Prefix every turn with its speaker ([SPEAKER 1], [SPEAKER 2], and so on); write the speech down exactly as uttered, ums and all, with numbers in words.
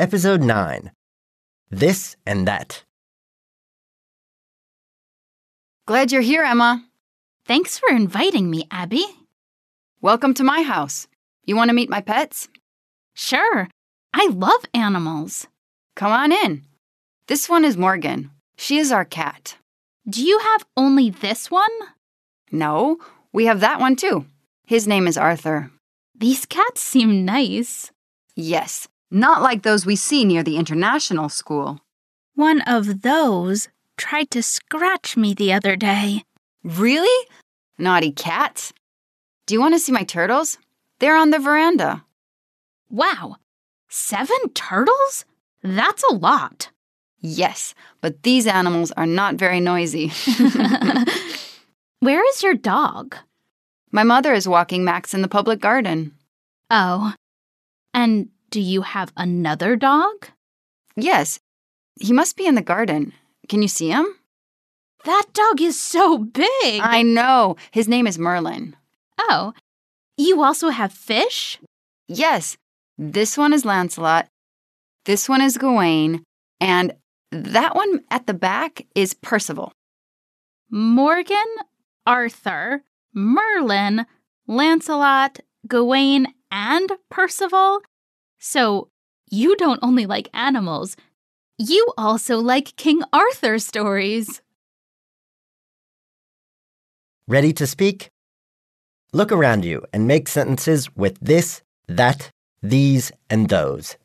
[SPEAKER 1] Episode nine. This and That.
[SPEAKER 2] Glad you're here, Emma.
[SPEAKER 3] Thanks for inviting me, Abby.
[SPEAKER 2] Welcome to my house. You want to meet my pets?
[SPEAKER 3] Sure. I love animals.
[SPEAKER 2] Come on in. This one is Morgan. She is our cat.
[SPEAKER 3] Do you have only this one?
[SPEAKER 2] No, we have that one too. His name is Arthur.
[SPEAKER 3] These cats seem nice.
[SPEAKER 2] Yes, not like those we see near the international school.
[SPEAKER 3] One of those tried to scratch me the other day.
[SPEAKER 2] Really? Naughty cat. Do you want to see my turtles? They're on the veranda.
[SPEAKER 3] Wow, seven turtles? That's a lot.
[SPEAKER 2] Yes, but these animals are not very noisy.
[SPEAKER 3] Where is your dog?
[SPEAKER 2] My mother is walking Max in the public garden.
[SPEAKER 3] Oh, and do you have another dog?
[SPEAKER 2] Yes, he must be in the garden. Can you see him?
[SPEAKER 3] That dog is so big.
[SPEAKER 2] I know. His name is Merlin.
[SPEAKER 3] Oh, you also have fish?
[SPEAKER 2] Yes, this one is Lancelot, this one is Gawain, and that one at the back is Percival.
[SPEAKER 3] Morgan, Arthur, Merlin, Lancelot, Gawain, and Percival? So you don't only like animals, you also like King Arthur stories.
[SPEAKER 1] Ready to speak? Look around you and make sentences with this, that, these, and those.